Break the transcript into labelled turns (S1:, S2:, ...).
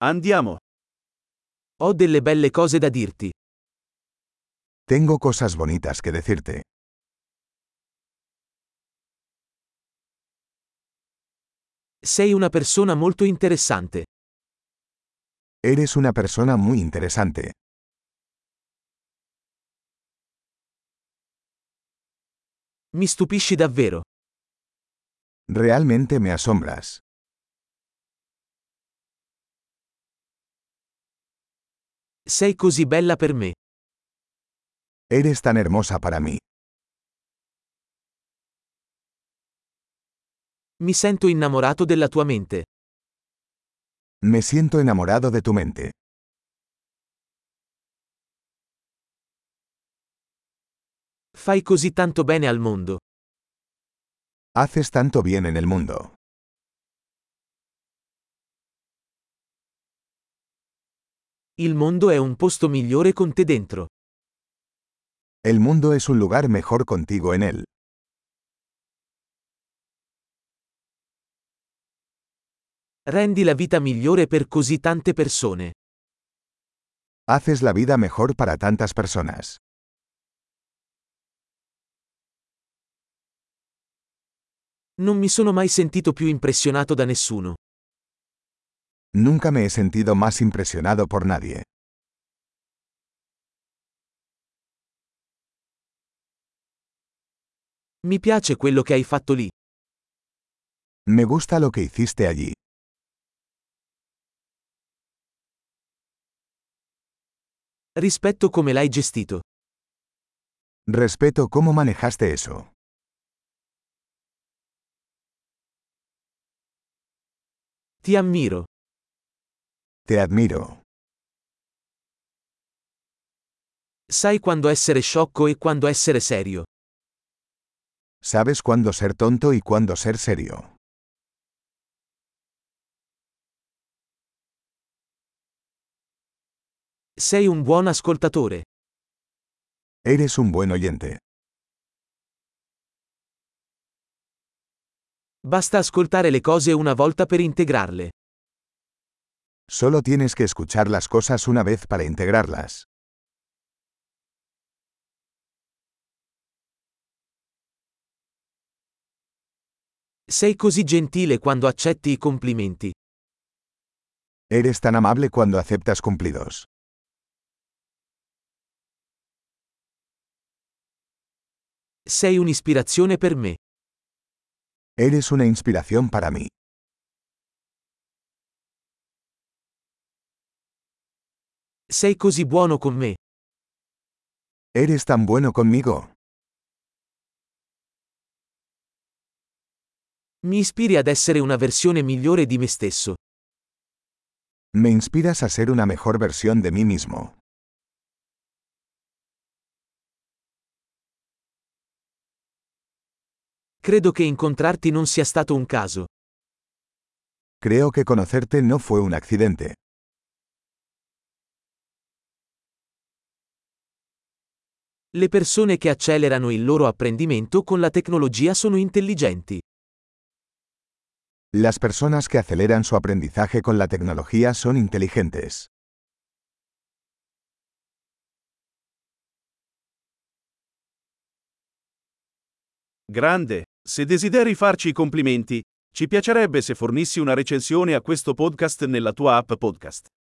S1: Andiamo.
S2: Ho delle belle cose da dirti.
S3: Tengo cosas bonitas que decirte.
S2: Sei una persona molto interessante.
S3: Eres una persona muy interesante.
S2: Mi stupisci davvero.
S3: Realmente me asombras.
S2: Sei così bella per me.
S3: Eres tan hermosa para mí.
S2: Mi sento innamorato della tua mente.
S3: Me siento enamorado de tu mente.
S2: Fai così tanto bene al mondo.
S3: Haces tanto bien en el mundo.
S2: Il mondo è un posto migliore con te dentro.
S3: El mundo es un lugar mejor contigo en él.
S2: Rendi la vita migliore per così tante persone.
S3: Haces la vida mejor para tantas personas.
S2: Non mi sono mai sentito più impressionato da nessuno.
S3: Nunca me he sentido más impresionado por nadie.
S2: Mi piace quello che hai fatto lì.
S3: Me gusta lo que hiciste allí.
S2: Rispetto come l'hai gestito.
S3: Respeto cómo manejaste eso.
S2: Ti ammiro.
S3: Te admiro.
S2: Sai quando essere sciocco e quando essere serio.
S3: Sabes cuándo ser tonto y cuándo ser serio.
S2: Sei un buon ascoltatore.
S3: Eres un buen oyente.
S2: Basta ascoltare le cose una volta per integrarle.
S3: Solo tienes que escuchar las cosas una vez para integrarlas.
S2: Sei così gentile quando accetti i complimenti.
S3: Eres tan amable cuando aceptas cumplidos.
S2: Sei un'ispirazione per me.
S3: Eres una inspiración para mí.
S2: Sei così buono con me.
S3: Eres tan bueno conmigo.
S2: Mi ispiri ad essere una versione migliore di me stesso.
S3: Me inspiras a ser una mejor versión de mí mismo.
S2: Credo che incontrarti non sia stato un caso.
S3: Creo que conocerte no fue un accidente.
S2: Le persone che accelerano il loro apprendimento con la tecnologia sono intelligenti.
S3: Las personas que aceleran su aprendizaje con la tecnología son inteligentes.
S1: Grande. Se desideri farci i complimenti, ci piacerebbe se fornissi una recensione a questo podcast nella tua app podcast.